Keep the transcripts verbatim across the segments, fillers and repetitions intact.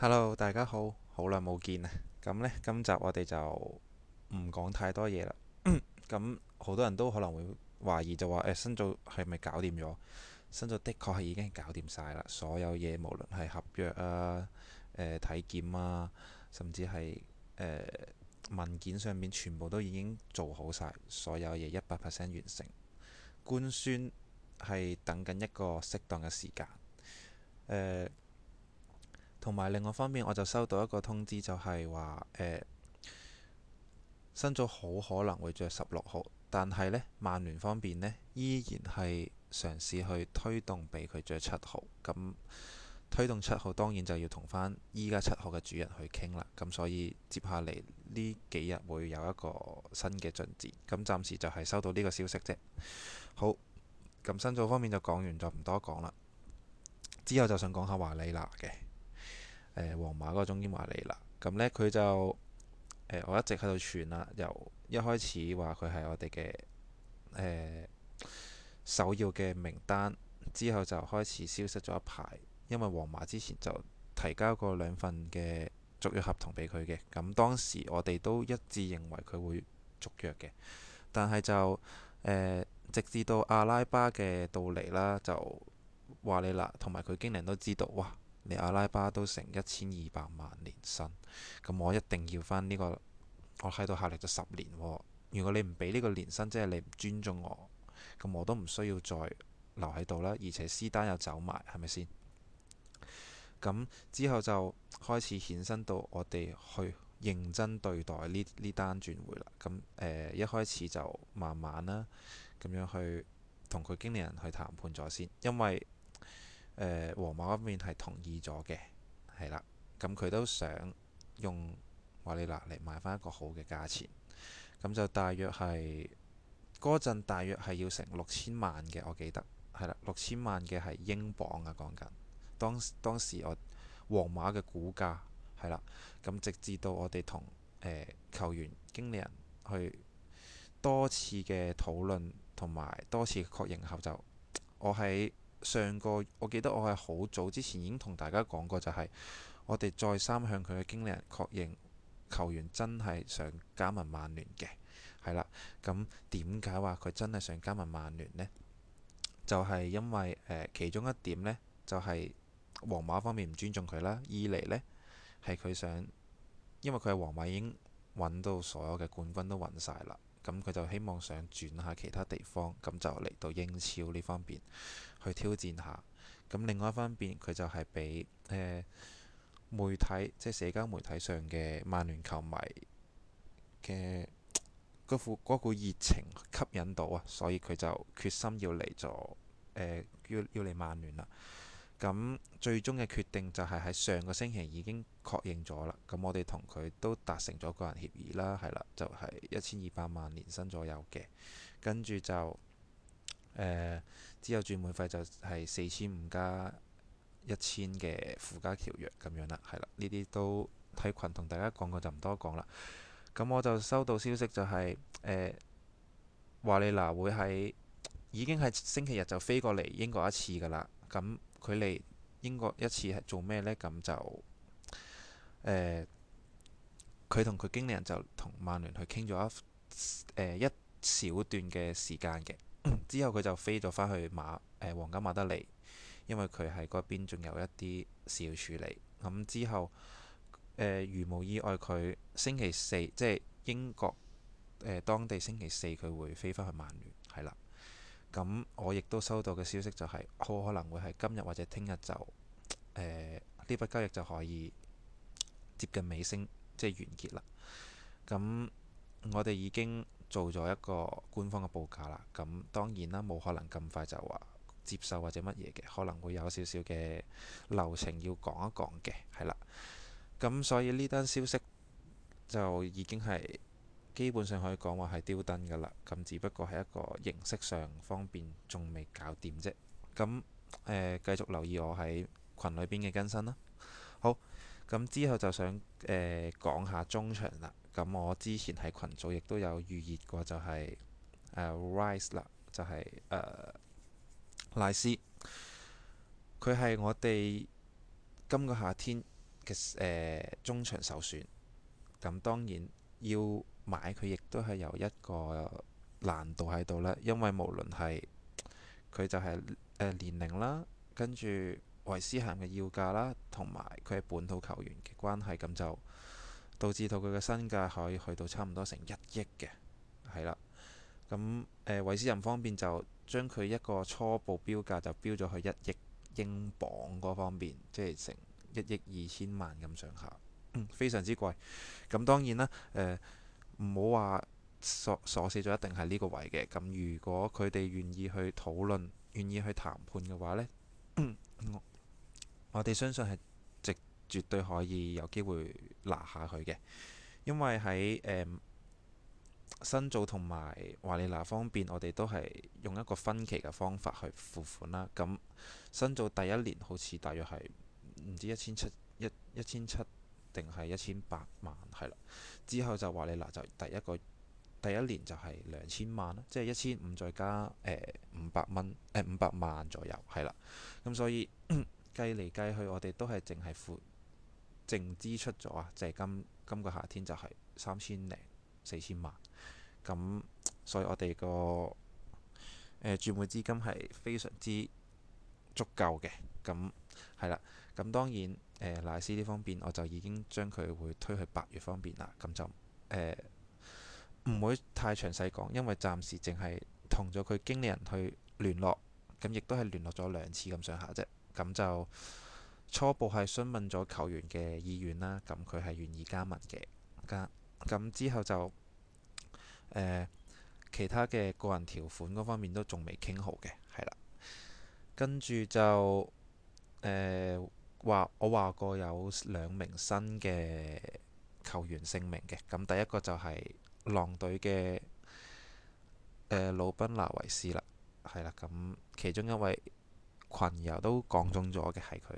Hello，大家好，好耐冇見啊！咁呢，今集我哋就唔講太多嘢啦。咁好多人都可能會懷疑就話誒，新組係咪搞掂咗？新組的確係已經係搞掂晒啦，所有嘢無論係合約啊、誒、體檢啊，甚至係誒、文件上面全部都已經做好晒，所有嘢一百 percent 完成。官宣係等緊一個適當嘅時間。誒、同埋另外一方面，我就收到一個通知，就係話誒新組好可能會着十六號，但係呢，曼聯方面呢，依然係嘗試去推動俾佢着七號。咁推動七號當然就要同翻依家七號嘅主人去傾啦。咁所以接下嚟呢幾日會有一個新嘅進展。咁暫時就係收到呢個消息啫。好，咁新組方面就講完，就唔多講啦。之後就想講下華利娜嘅誒皇馬嗰個中堅華利娜。咁呢，佢就誒，我一直喺度傳啦，由一開始話佢係我哋嘅誒首要嘅名單，之後就開始消失咗一排，因為皇馬之前就提交過兩份嘅續約合同俾佢嘅，咁當時我哋都一致認為佢會續約嘅，但係就誒、呃、直至到阿拉巴嘅到嚟啦，就華利娜同埋佢經理人都知道，哇！你阿拉巴都成一千二百萬年薪，咁我一定要翻呢個，我喺度效力咗十年喎。如果你唔俾呢個年薪，即係你唔尊重我，咁我都唔需要再留喺度啦。而且斯丹又走埋，係咪先？咁之後就開始衍生到我哋去認真對待呢呢單轉會啦。咁誒、呃、一開始就慢慢啦，咁樣去同佢經理人去談判咗先，因為誒皇馬嗰邊係同意咗嘅，係啦。咁佢都想用華利娜嚟買翻一個好嘅價錢，咁就大約係嗰陣大約係要成六千萬嘅，我記得係啦，六千萬嘅係英鎊啊，講緊當當時我皇馬嘅股價係啦。咁直至到我哋同誒球員經理人去多次嘅討論同埋多次嘅確認後，就我喺上個我記得我係好早之前已經同大家講過，就係我哋再三向佢嘅經理人確認球員真係想加盟曼聯嘅，係啦。咁點解話佢真係想加盟曼聯呢？就係因為誒其中一點呢，就係皇馬方面唔尊重佢啦。二嚟呢，係佢想，因為佢係皇馬已經揾到所有嘅冠軍都揾晒啦，咁佢就希望想轉下其他地方，咁就嚟到英超呢方面去挑戰下。咁另外一方面，佢就係俾誒媒體，即係社交媒體上嘅曼聯球迷嘅嗰副嗰股熱情吸引到啊，所以佢就決心要嚟咗誒，要要嚟曼聯啦。咁最終嘅決定就係喺上個星期已經確認咗啦。咁我哋同佢都達成咗個人協議啦，係啦，就係一千二百萬年薪左右嘅。跟住就誒、呃、之後轉會費就係四千五加一千嘅附加條約咁樣啦，係啦，呢啲都喺群同大家講過就唔多講啦。咁我就收到消息就係誒華利娜會喺已經係星期日就飛過嚟英國一次㗎啦。咁佢嚟英國一次係做咩呢？咁就誒佢同佢經理人就同曼聯去傾咗一誒、呃、一小段嘅時間嘅。之後佢就飛咗返去馬誒、呃、皇家馬德里，因為佢喺嗰邊仲有一啲事要處理。咁之後誒、呃、如無意外，佢星期四即係英國誒、呃、當地星期四佢會飛返去曼聯，係啦。咁我亦都收到嘅消息就係、是、好可能會係今日或者聽日就誒呢筆交易就可以接近尾聲，即係完結啦。咁我哋已經做咗一個官方嘅報價啦。咁當然啦，冇可能咁快就話接受或者乜嘢嘅，可能會有少少嘅流程要講一講嘅，係啦。咁所以呢單消息就已經係基本上可以講話係丟燈㗎啦。咁只不過係一個形式上方面仲未搞掂啫。咁誒、呃、繼續留意我喺群裏邊嘅更新啦。好，咁之後就想誒、呃、講下中場啦。咁我之前喺群組亦都有預熱過，就係、是、誒、呃、Rice 啦，就係、是、誒、呃、賴斯。佢係我哋今個夏天嘅誒中場首選。咁當然要買佢，亦都係有一個難度喺度啦，因為無論係佢就係、是、誒、呃、年齡啦，跟住韋斯咸嘅要價啦，同埋佢係本土球員嘅關係，咁就導致到佢嘅身價可以去到差唔多成一億嘅，係啦。咁誒、呃、韋斯咸方面就將佢一個初步標價就標咗去一億英鎊嗰方面，即係成一億二千萬咁上下，非常之貴。咁當然啦，誒唔好話鎖鎖死咗一定係呢個位嘅。咁如果佢哋願意去討論、願意去談判嘅話呢，我我哋相信係直絕對可以有機會拿下佢嘅，因為喺誒、呃、新造同埋華利拿方面，我哋都係用一個分期嘅方法去付款啦。咁新造第一年好似大約係唔知一千七一一千七定係一千八萬係啦。之後就華利拿就第一個第一年就係兩千萬啦，即係一千五再加誒五百蚊誒五百萬左右係啦。咁所以計嚟計去，我哋都係淨係付淨支出咗啊，就係今今個夏天就係三千零四千萬。咁所以我哋個誒轉會資金係非常之足夠嘅。咁係啦。咁當然誒、呃、賴斯呢方面，我就已經將佢會推去八月方面啦。咁就誒唔會太詳細講，因為暫時淨係同咗佢經理人去聯絡，咁亦都係聯絡咗兩次咁上下啫。咁就初步係詢問咗球員嘅意願啦，咁佢係願意加盟嘅。加咁之後就誒、呃、其他嘅個人條款嗰方面都仲未傾好嘅，係啦。跟住就誒話、呃、我話過有兩名新嘅球員姓名嘅，咁第一個就係狼隊嘅誒魯賓拿維斯啦，係啦。咁其中一位群友都講中咗嘅係佢。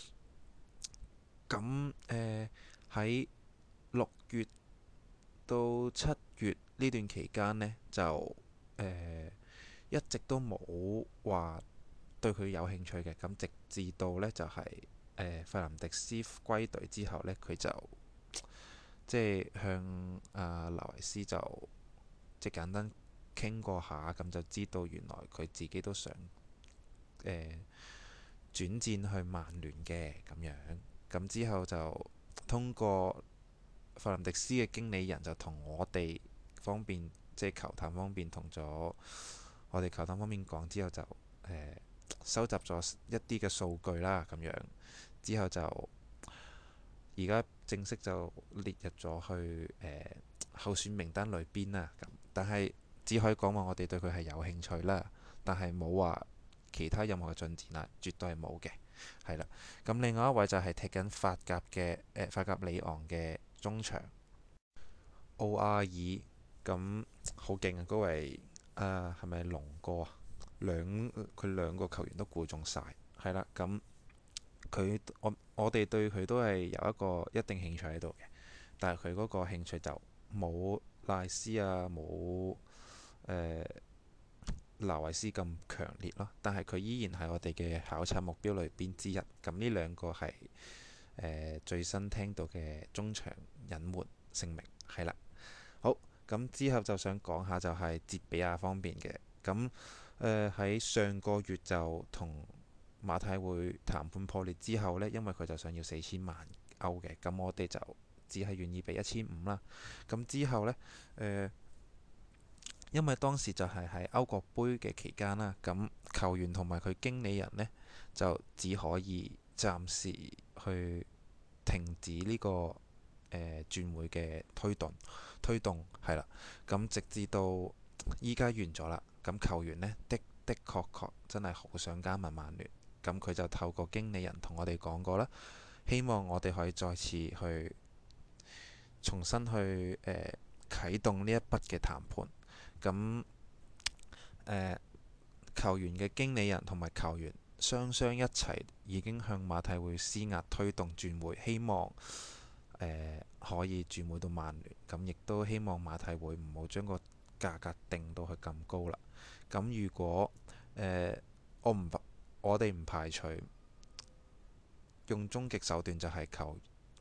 咁誒喺六月到七月呢段期間呢，就誒、呃、一直都冇話對佢有興趣嘅。咁直至到呢，就係、是、誒、呃、費林迪斯歸隊之後呢，佢就即係向阿拿維斯就即係簡單傾過下，咁就知道原來佢自己都想誒、呃、轉戰去曼聯嘅咁樣。咁之後就通過費林迪斯嘅經理人就同我哋方面，即係球探方面同咗我哋球探方面講之後就誒、呃、收集咗一啲嘅數據啦，咁樣之後就而家正式就列入咗去誒、呃、候選名單裏邊啦。咁但係只可以講話我哋對佢係有興趣啦，但係冇話其他任何嘅進展啦，絕對係冇嘅。係啦。咁另外一位就係踢緊法甲嘅誒、呃、法甲里昂嘅中場奧亞爾，咁好勁啊！嗰位誒係咪龍哥啊？兩佢兩個球員都估中晒，係啦。咁佢我我哋對佢都係有一個一定興趣喺度嘅，但係佢嗰個興趣就冇賴斯啊，冇誒拿維斯咁強烈咯。但係佢依然係我哋嘅考察目標裏邊之一。咁呢兩個係誒、呃、最新聽到嘅中場隱瞞姓名係啦。好，咁之後就想講下就係捷比亞方面嘅。咁誒喺上個月就同馬體會談判破裂之後呢，因為佢就想要四千萬歐嘅，咁我哋就只係願意俾一千五啦。咁之後呢，誒、呃，因為當時就係喺歐國杯嘅期間啦，咁球員同埋佢經理人呢，就只可以暫時去停止呢、這個誒、呃、轉會嘅推動推動係啦。咁直至到依家完咗啦，咁球員呢，的的確確真係好想加盟曼聯。咁佢就透過經理人同我哋講過啦，希望我哋可以再次去重新去誒、呃、啟動呢一筆嘅談判。咁誒、呃、球員嘅經理人同埋球員雙雙一齊已經向馬體會施壓推動轉會，希望誒、呃、可以轉會到曼聯。咁亦都希望馬體會唔好將個價格定到去咁高啦。咁如果誒、呃、我唔我哋唔排除用終極手段，就係求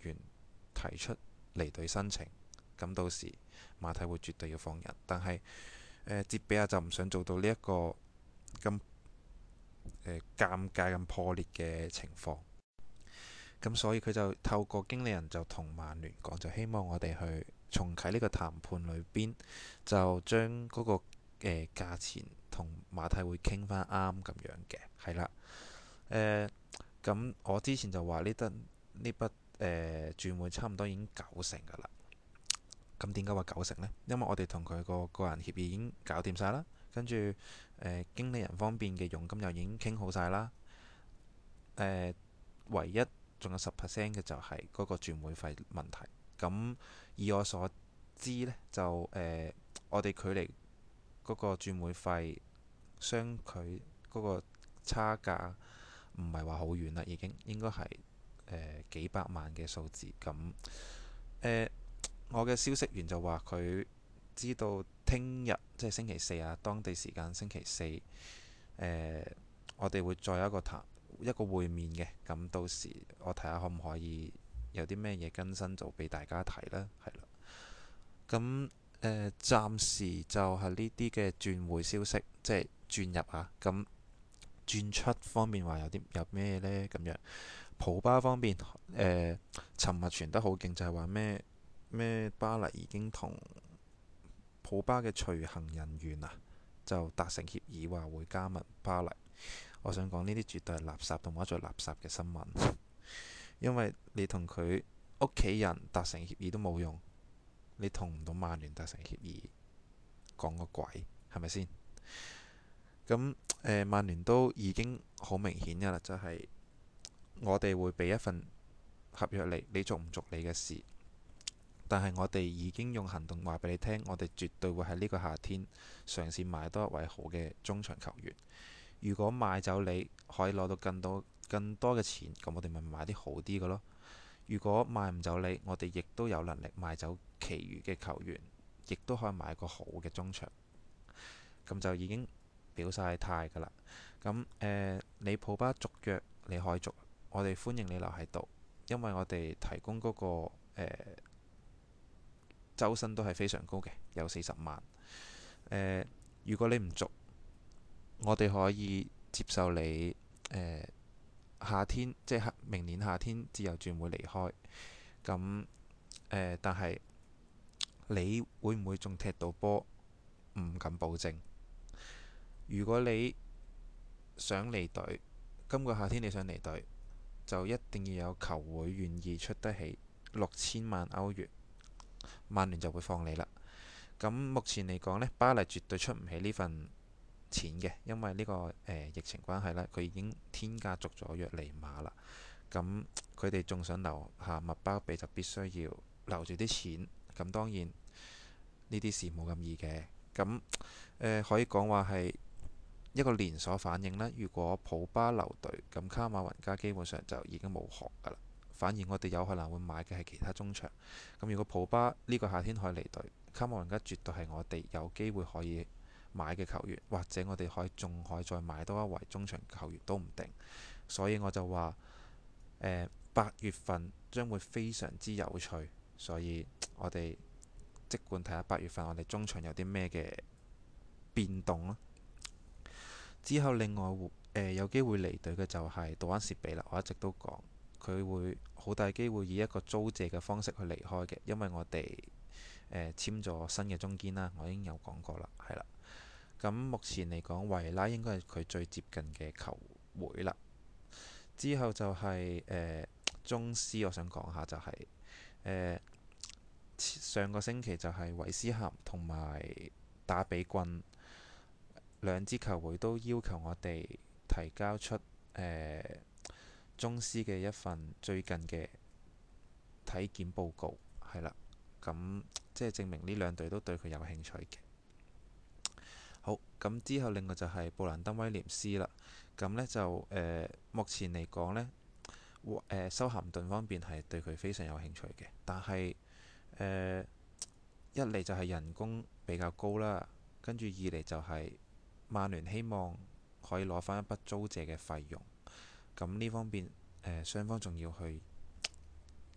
員提出離隊申請，咁到時馬體會絕對要放人。但係誒哲比亞就唔想做到呢一個咁誒尷尬、咁破裂嘅情況，咁所以佢就透過經理人就同曼聯講，就希望我哋去重啟呢個談判裏邊，就將嗰、那個誒、呃、價錢同馬體會傾翻啱咁樣嘅，係啦。誒咁我之前就話呢得呢筆誒轉會差唔多已經九成㗎啦。咁點解話九成呢？因為我哋同佢個個人協議已經搞掂晒啦，跟住誒經理人方面嘅佣金又已經傾好晒啦。誒、呃、唯一仲有十 percent 嘅就係嗰個轉會費問題。咁以我所知呢，就誒、呃、我哋距離嗰個轉會費相距嗰個差價唔係話好遠啦，已經應該係誒、呃、幾百萬嘅數字。咁誒、呃、我嘅消息源就話佢知道聽日即係星期四啊，當地時間星期四誒、呃，我哋會再有一個談一個會面嘅。咁到時我睇下可唔可以有啲咩嘢更新，就俾大家睇啦，係啦。咁誒、呃、暫時就係呢啲嘅轉會消息，即係轉入啊。咁轉出方面話有啲有咩呢？咁樣普巴方面誒，尋日傳得好勁，就係話咩咩巴黎已經同普巴嘅隨行人員啊，就達成協議，話會加盟巴黎。我想講呢啲絕對係垃圾同埋再垃圾嘅新聞，因為你同佢屋企人達成協議都冇用，你同唔到曼聯達成協議，講個鬼係咪先？咁誒，曼聯都已經好明顯㗎啦，就係、是、我哋會俾一份合約你，你做唔做你嘅事。但係我哋已經用行動話俾你聽，我哋絕對會喺呢個夏天嘗試買多一位好嘅中場球員。如果買走你可以攞到更多更多嘅錢，咁我哋咪買啲好啲嘅咯。如果買唔走你，我哋亦都有能力買走其餘嘅球員，亦都可以買個好嘅中場。咁就已經表晒態㗎啦。咁誒、呃，你普巴續約你可以續，我哋歡迎你留喺度，因為我哋提供嗰、那個誒、呃、周薪都係非常高嘅，有四十萬。誒、呃，如果你唔續，我哋可以接受你誒、呃、夏天，即係明年夏天自由轉會離開。咁誒、呃，但係你會唔會仲踢到波？唔敢保證。如果你想離隊，今個夏天你想離隊，就一定要有球會願意出得起六千萬歐元，曼聯就會放你啦。咁目前嚟講呢，巴黎絕對出唔起呢份錢嘅，因為呢、這個誒、呃、疫情關係啦，佢已經天價續咗約尼馬啦。咁佢哋仲想留下麥巴比，就必須要留住啲錢。咁當然呢啲事冇咁易嘅。咁誒、呃、可以講話係一個連鎖反應啦。如果普巴留隊，咁卡馬雲加基本上就已經冇學㗎啦。反而我哋有可能會買嘅係其他中場。咁如果普巴呢個夏天可以離隊，卡馬雲加絕對係我哋有機會可以買嘅球員，或者我哋可以仲可以再買多一位中場球員都唔定。所以我就話誒八月份將會非常之有趣，所以我哋即管睇下八月份我哋中場有啲咩嘅變動啦。之後另外誒、呃、有機會離隊嘅就係杜安士比啦。我一直都講佢會好大機會以一個租借嘅方式去離開嘅，因為我哋誒、呃、簽咗新嘅中堅啦。我已經有講過啦，係啦。咁目前嚟講，維拉應該係佢最接近嘅球會啦。之後就係、是、誒、呃、中斯，我想講下就係、是、誒、呃、上個星期就係韋斯咸同埋打比郡兩支球會都要求我哋提交出誒、呃、中斯嘅一份最近嘅體檢報告，係啦。咁即係證明呢兩隊都對佢有興趣嘅。好，咁之後另外就係布蘭登威廉斯啦。咁呢就誒、呃、目前嚟講呢，誒、呃、修咸頓方面係對佢非常有興趣嘅，但係誒、呃、一嚟就係人工比較高啦，跟住二嚟就係曼聯希望可以攞翻一筆租借嘅費用。咁呢方面誒雙方仲要去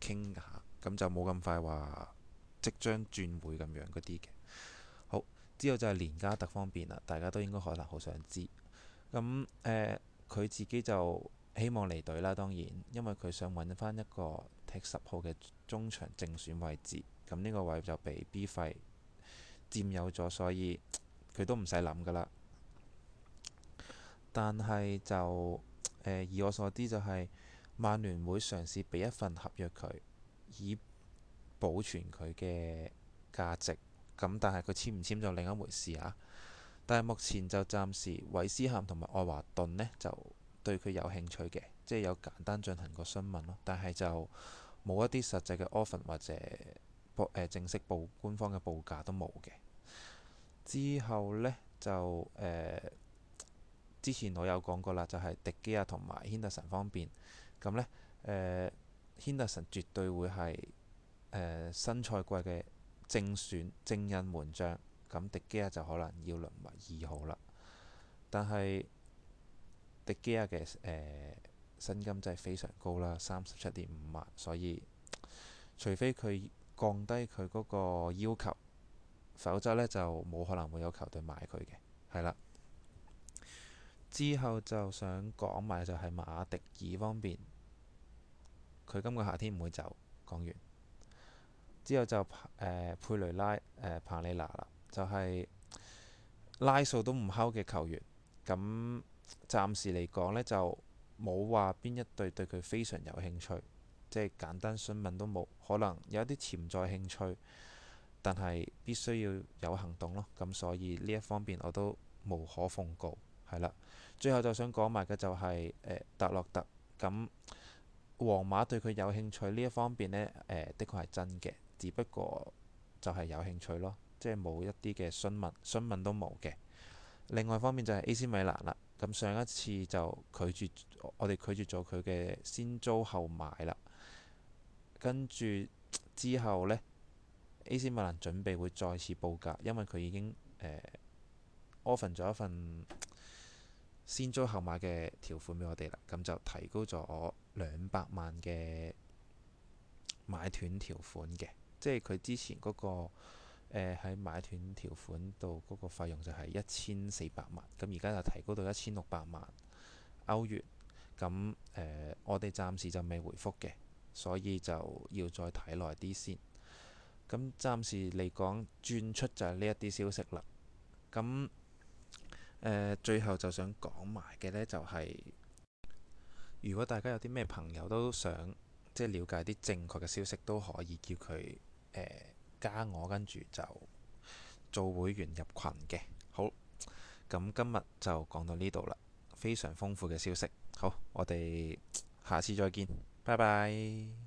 傾下，咁就冇咁快話即將轉會咁樣嗰啲嘅。好，之後就係連加特方面啦，大家都應該可能好想知。咁誒，佢自己就希望離隊啦，當然，因為佢想揾翻一個踢十號嘅中場正選位置。咁呢個位就被 B 費佔有咗，所以佢都唔使諗噶啦。但係就誒，以我所知就係曼聯會嘗試俾一份合約佢，以保存佢嘅價值。咁但係佢簽唔簽就另一回事啊。但係目前就暫時韋斯咸同埋愛華頓呢，就對佢有興趣嘅，即係有簡單進行過詢問咯。但係就冇一啲實際嘅 offer 或者報誒正式報官方嘅報價都冇嘅。之後呢，就誒、呃、之前我有講過啦，就係、是、迪基亞同埋軒達臣方面咁呢。誒軒達臣絕對會係誒、呃、新賽季嘅正選正印門將。咁迪基亞就可能要淪為二號啦。但係迪基亞嘅誒薪金真係非常高啦，三十七點五萬，所以除非佢降低佢嗰個要求，否則呢就冇可能會有球隊買佢嘅。係啦，之後就想講埋就係馬迪爾方面，佢今個夏天唔會走。講完之後就誒、呃、佩雷拉誒、呃、彭利拿啦。就係拉數都唔敲嘅球員，咁暫時嚟講呢，就冇話邊一隊對佢非常有興趣，即係簡單詢問都冇，可能有一啲潛在興趣，但係必須要有行動咯。咁所以呢一方面我都無可奉告，係啦。最後就想講埋嘅就係、是呃、特洛特，咁皇馬對佢有興趣呢一方面呢，誒、呃、的確係真嘅，只不過就係有興趣咯。即係冇一啲嘅詢問，詢問都冇嘅。另外一方面就係 A C 米蘭啦。咁上一次就拒絕我哋拒絕咗佢嘅先租後買啦。跟住之後呢 A C 米蘭準備會再次報價，因為佢已經誒 offer 咗一份先租後買嘅條款俾我哋啦。咁就提高咗兩百萬嘅買斷條款嘅，即係佢之前嗰個。誒喺、呃、買斷條款度嗰個費用就係一千四百萬，咁而家就提高到一千六百萬歐元。咁誒、呃，我哋暫時就未回覆嘅，所以就要再睇耐啲先。咁暫時嚟講，轉出就係呢一啲消息啦。咁誒、呃，最後就想講埋嘅呢，就係、是、如果大家有啲咩朋友都想即係了解啲正確嘅消息，都可以叫佢誒。呃加我，跟住就做會員入群嘅。好，咁今日就講到呢度啦，非常豐富嘅消息。好，我哋下次再見，拜拜。